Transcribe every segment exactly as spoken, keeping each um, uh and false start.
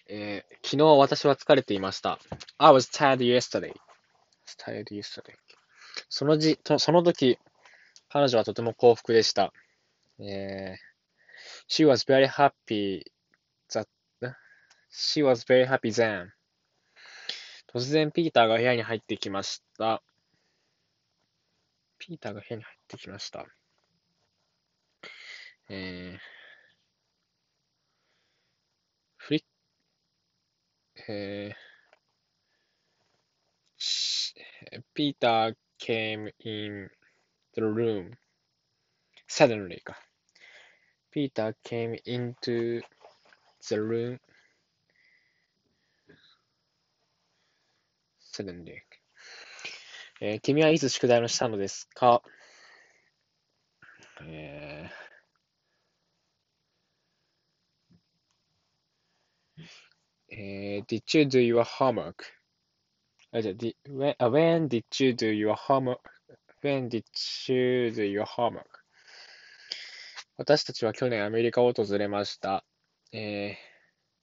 えー昨日私は疲れていました。I was tired yesterday. tired yesterday. そのじ、とその時、彼女はとても幸福でした。えー She was very happy that, she was very happy then. 突然ピーターが部屋に入ってきました。ピーターが部屋に入ってきました。えー、フリッ、えー、ピーター came in the room suddenly か。ピーター came into the room suddenly. えー君はいつ宿題をしたのですか？えーえー Did you do your homework? あ、じゃあ、di- when, あ when did you do your homework? When did you do your homework? 私たちは去年アメリカを訪れました。えー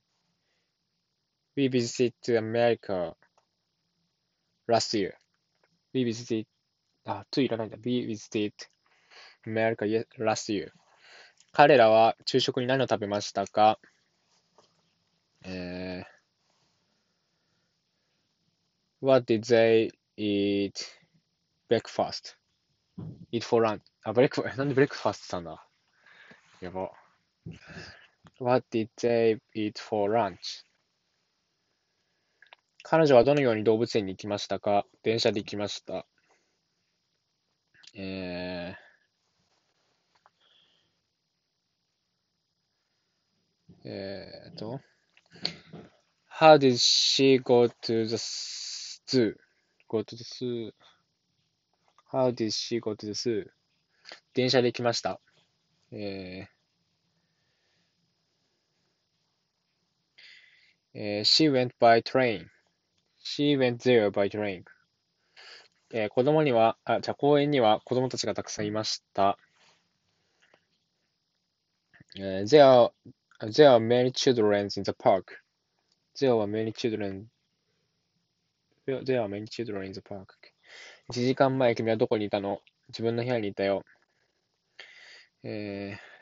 We visited America last year. We visited, あ、to いらないんだ。We visited America ye- last year. 彼らは昼食に何を食べましたか？えー What did they eat breakfast? Eat for lunch. あ、ブレックファ、なんでブレックファストしたんだ？やば。What did they eat for lunch? 彼女はどのように動物園に行きましたか？電車で行きました。えー、えーと、How did she go to the zoo? Go to the zoo. How did she go to the zoo? 電車で行きました。えーえー She went by train. She went there by train. えー子供には、あ、じゃあ公園には子供たちがたくさんいました。えー there are, there are many children in the park. There are many children. There there are many children in the park. いちじかんまえ君はどこにいたの？自分の部屋にいたよ。えー、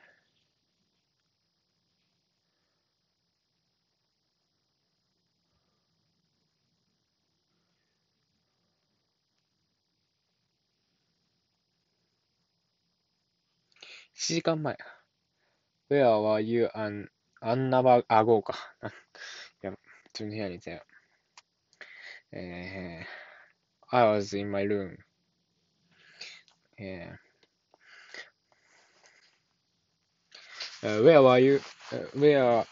いちじかんまえ。Where were you an, an hour ago か。いや、自分の部屋にいたよ。えー、I was in my room. えー、Where were you? Where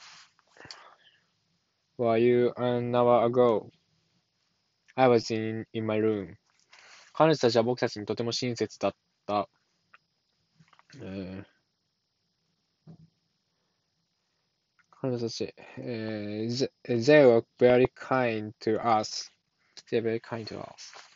were you an hour ago? I was in, in my room. 彼女たちは僕たちにとても親切だった。えー、彼女たち、えー、they they were very kind to us. They were very kind to us.